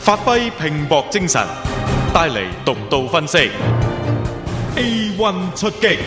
發揮拼搏精神，帶嚟獨到分析。A1 出擊。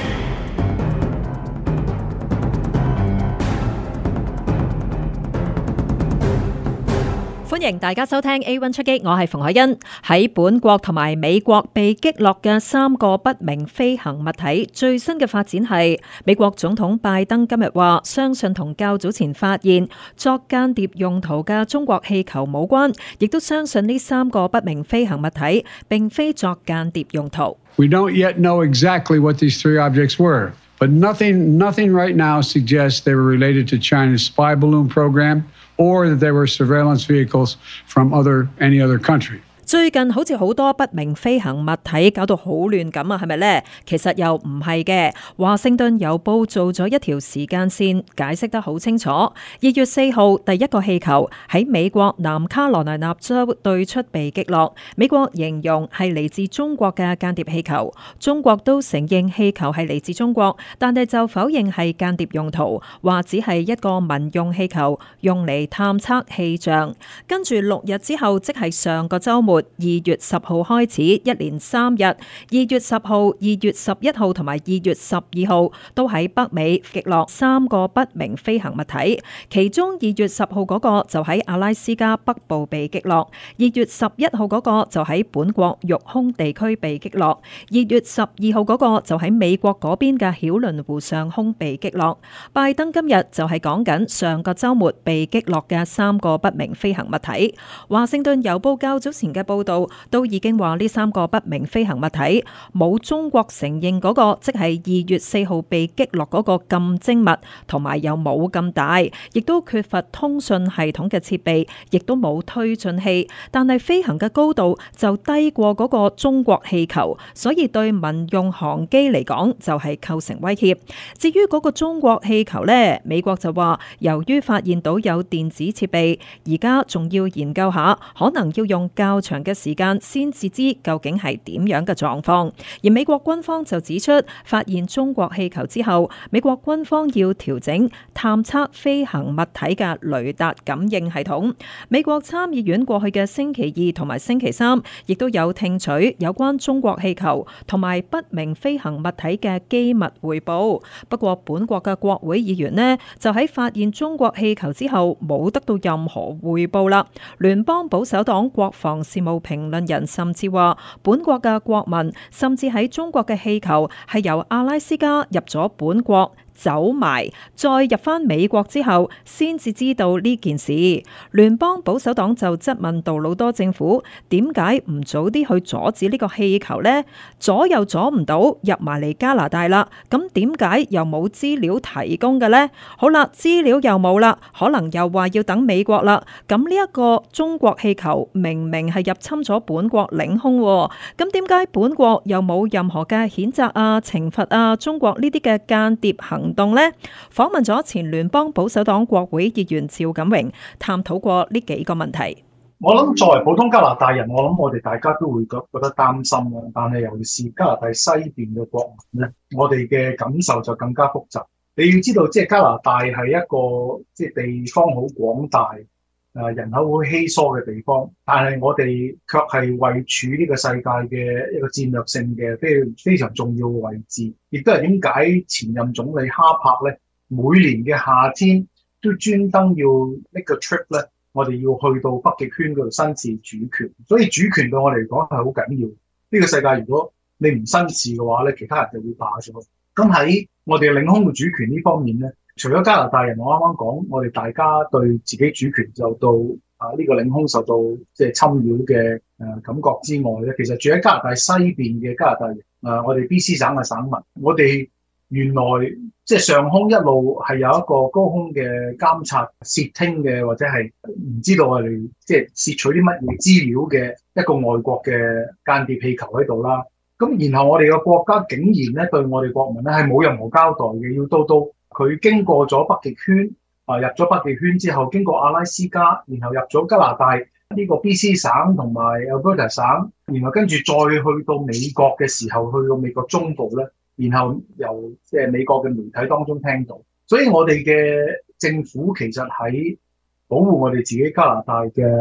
歡迎大家收聽 A1 出擊，我係馮海欣。喺本國同埋美國被擊落嘅3個不明飛行物體，最新嘅發展係美國總統拜登今日話，相信同較早前發現作間諜用途嘅中國氣球冇關，亦都相信呢3個不明飛行物體並非作間諜用途。 We don't yet know exactly what these 3 objects were, but nothing right now suggests they were related to China's spy balloon program or that they were surveillance vehicles from any other country. 最近好似好多不明飛行物體搞到好亂咁啊，係咪呢？其實又唔係嘅。華盛頓郵報做咗一條時間線，解釋得好清楚。2月4號，第一個氣球喺美國南卡羅來納州對出被擊落，美國形容係嚟自中國嘅間諜氣球，中國都承認氣球係嚟自中國，但係就否認係間諜用途，話只係一個民用氣球，用嚟探測氣象。跟住6日之後，即係上個週末，2月10號開始，一連3日，2月10號、2月11號同埋2月12號都喺北美擊落3個不明飛行物體，其中2月10號嗰個就喺阿拉斯加北部被擊落，2月11號嗰個就喺本國育空地區被擊落，2月12號嗰個就喺美國嗰邊嘅曉倫湖上空被擊落。拜登今日就係講緊上個週末被擊落嘅3個不明飛行物體。華盛頓郵報較早前嘅報道都已經話呢3個不明飛行物體冇中國承認嗰個，即係2月4號被擊落嗰個咁精密，同埋又冇咁大，亦都缺乏通訊系統嘅設備，亦都冇推進器，但係飛行嘅高度就低過嗰個中國氣球，所以對民用航機嚟講就係構成威脅。至於嗰個中國氣球呢，美國就話由於發現到有電子設備，而家仲要研究下，可能要用較長嘅時間先至知究竟係點樣嘅狀況。而美國軍方就指出，發現中國氣球之後，美國軍方要調整探測飛行物體嘅雷達感應系統。美國參議院過去嘅星期2同埋星期3，亦都有聽取有關中國氣球同埋不明飛行物體嘅機密匯報。不過本國嘅國會議員呢，就喺發現中國氣球之後冇得到任何匯報啦。聯邦保守黨國防事務評論人甚至話，本國嘅國民甚至喺中國嘅氣球係由阿拉斯加入咗本國，走埋再入返美國之後先至知道呢件事。聯邦保守黨就質問杜魯多政府點解唔早啲去阻止呢個氣球呢？阻又阻唔到，入埋嚟加拿大啦，咁點解又冇資料提供嘅呢？好啦，資料又冇啦，可能又話要等美國啦。咁呢一個中國氣球明明係入侵咗本國領空，咁點解本國又冇任何嘅譴責啊、懲罰啊中國呢啲嘅間諜行動呢？訪問咗前聯邦保守黨國會議員趙錦榮，探討過呢幾個問題。 我諗作為普通加拿大人，我諗我哋大家都會覺得擔心啦。但係尤其是加拿大西邊嘅國民咧，我哋嘅感受就更加複雜。你要知道，即係加拿大係一個即係地方好廣大、人口好稀疏嘅地方，但係我哋卻係位處呢個世界嘅一個戰略性嘅非常重要嘅位置。亦都係點解前任總理哈柏咧，每年嘅夏天都專登要呢個 trip 咧，我哋要去到北極圈嗰度申示主權。所以主權對我嚟講係好緊要。呢個世界如果你唔申示嘅話咧，其他人就會霸咗。咁喺我哋領空嘅主權呢方面咧，除咗加拿大人，我啱啱講，我哋大家對自己主權受到呢個領空受到即係侵擾嘅感覺之外咧，其實住喺加拿大西邊嘅加拿大人，我哋 BC 省嘅省民，我哋原來即係上空一路係有一個高空嘅監察、竊聽嘅，或者係唔知道我哋即係竊取啲乜嘢資料嘅一個外國嘅間諜氣球喺度啦。咁然後我哋嘅國家竟然咧對我哋國民咧係冇任何交代嘅，要到佢經過咗北極圈，入咗北極圈之後，經過阿拉斯加，然後入咗加拿大呢個 BC 省同埋 Alberta 省，然後跟住再去到美國嘅時候，去到美國中部咧，然後由即係美國嘅媒體當中聽到，所以我哋嘅政府其實喺保護我哋自己加拿大嘅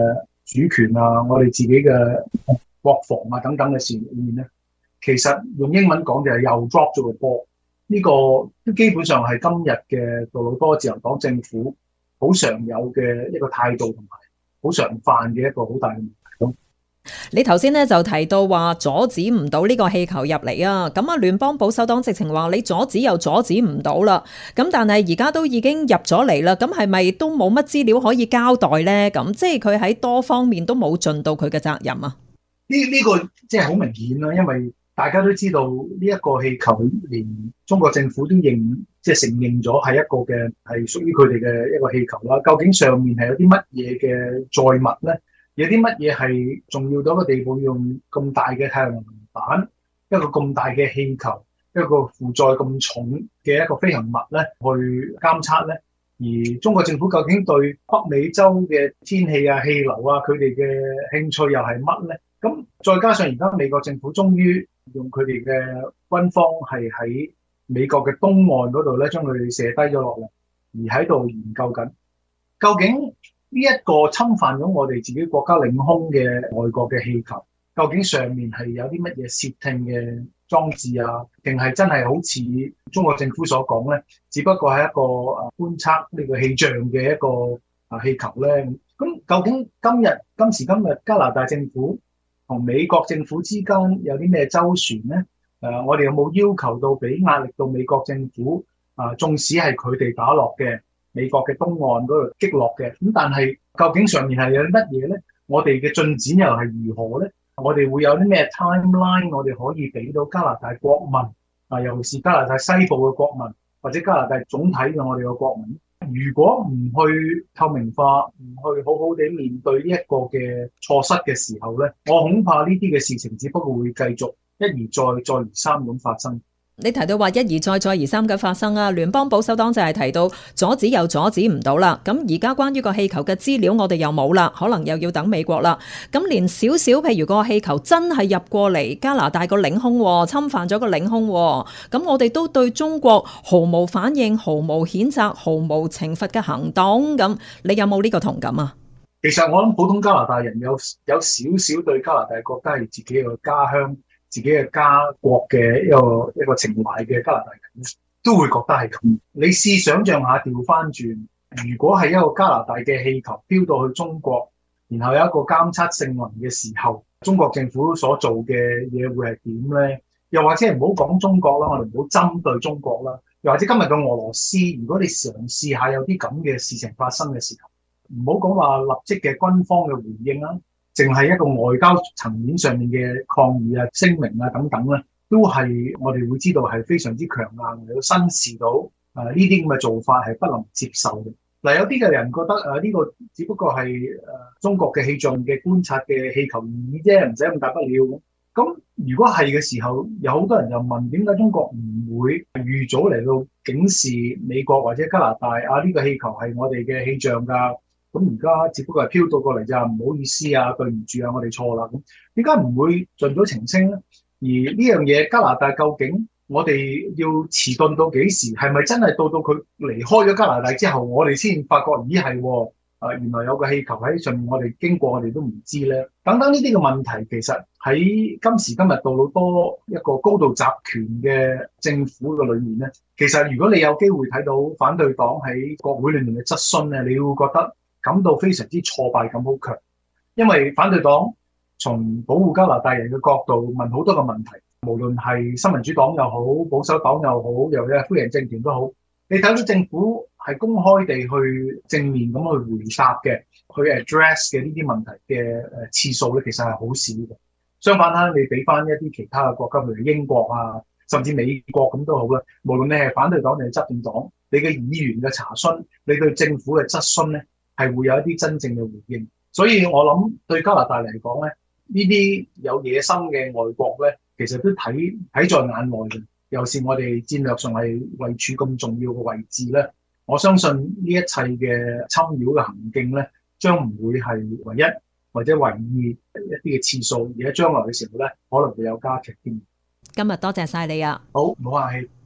主權啊，我哋自己嘅國防啊等等嘅事裏面咧，其實用英文講就係又 drop 咗個波。呢個都基本上係今日嘅杜魯多自由黨政府好常有嘅一個態度同埋好常犯嘅一個好大嘅問題。 你頭先咧就提到話阻止唔到呢個氣球入嚟啊，咁啊聯邦保守黨直情話你阻止又阻止唔到啦，咁但係而家都已經入咗嚟啦，咁係咪都冇乜資料可以交代呢？咁即係佢喺多方面都冇盡到佢嘅責任啊？呢個即係好明顯啦，因為大家都知道呢一個氣球連中國政府都即係承認咗係一個嘅係屬於佢哋嘅一個氣球啦。究竟上面係有啲乜嘢嘅載物呢？有啲乜嘢係重要到一個地步，用咁大嘅太陽能板，一個咁大嘅氣球，一個負載咁重嘅一個飛行物咧，去監測咧？而中國政府究竟對北美洲嘅天氣啊、氣流啊，佢哋嘅興趣又係乜咧？咁再加上而家美國政府終於用佢哋嘅軍方係喺美國嘅東岸嗰度咧，將佢哋射低咗落嚟，而喺度研究緊究竟呢一個侵犯咗我哋自己國家領空嘅外國嘅氣球，究竟上面係有啲乜嘢竊聽嘅裝置啊？定係真係好似中國政府所講咧，只不過係一個觀測呢個氣象嘅一個氣球咧？咁究竟今時今日加拿大政府同美國政府之間有啲咩周旋咧？我哋有冇要求到俾壓力到美國政府縱使係佢哋打落嘅美國嘅東岸嗰度擊落嘅，咁但係究竟上面係有啲乜嘢咧？我哋嘅進展又係如何咧？我哋會有啲咩 timeline 我哋可以俾到加拿大國民尤其是加拿大西部嘅國民，或者加拿大總體嘅我哋嘅國民，如果唔去透明化，唔去好好地面對呢一個嘅錯失嘅時候咧，我恐怕呢啲嘅事情只不過會繼續一而再、再而三咁發生。 你提到話一而再、再而三嘅發生啊，聯邦保守黨就係提到阻止又阻止唔到啦。咁而家關於個氣球嘅資料我哋又冇啦，可能又要等美國啦。咁連少少譬如個氣球真係入過嚟加拿大個領空，侵犯咗個領空，咁我哋都對中國毫無反應、毫無譴責、毫無懲罰嘅行動。咁你有冇呢個同感啊？ 其實我諗普通加拿大人有少少對加拿大國家係自己嘅家鄉、自己嘅家國嘅一個情懷嘅加拿大人都會覺得係咁。你試想像下調翻轉，如果係一個加拿大嘅氣球飄到去中國，然後有一個監測性能嘅時候，中國政府所做嘅嘢會係點咧？又或者唔好講中國啦，我哋唔好針對中國啦。又或者今日嘅俄羅斯，如果你嘗試下有啲咁嘅事情發生嘅時候，唔好講話立即嘅軍方嘅回應啦，淨係一個外交層面上面嘅抗議啊、聲明啊等等咧，都係我哋會知道係非常之強硬嘅，要審視到呢啲咁嘅做法係不能接受嘅。嗱，有啲嘅人覺得呢個只不過係中國嘅氣象嘅觀察嘅氣球而已啫，唔使咁大不了。咁如果係嘅時候，有好多人就問點解中國唔會預早嚟到警示美國或者加拿大呢個氣球係我哋嘅氣象㗎？咁而家只不過係飄到過嚟咋，唔好意思啊，對唔住啊，我哋錯啦。咁點解唔會盡早澄清咧？而呢樣嘢加拿大究竟我哋要遲鈍到幾時？係咪真係到佢離開咗加拿大之後，我哋先發覺咦係原來有個氣球喺上面，我哋經過我哋都唔知咧。等等呢啲嘅問題，其實喺今時今日杜魯多一個高度集權嘅政府嘅裏面咧，其實如果你有機會睇到反對黨喺國會裏面嘅質詢咧，你會覺得感到非常之挫敗感好強，因為反對黨從保護加拿大人嘅角度問好多個問題，無論係新民主黨又好、保守黨又好，又或者係灰人政權都好，你睇到政府係公開地去正面咁去回答嘅，去 address 嘅呢啲問題嘅次數咧，其實係好少嘅。相反啦，你俾翻一啲其他嘅國家，譬如英國啊，甚至美國咁都好啦，無論你係反對黨定係執政黨，你嘅議員嘅查詢，你對政府嘅質詢咧，係會有一啲真正嘅回應。所以我諗對加拿大嚟講咧，呢啲有野心嘅外國咧，其實都睇在眼內嘅。尤其是我哋戰略上係位處咁重要嘅位置咧，我相信呢一切嘅侵擾嘅行徑咧，將唔會係唯一或者唯二一啲嘅次數，而喺將來嘅時候咧，可能會有加劇添。 今日多謝晒你啊！ 好，唔好客氣。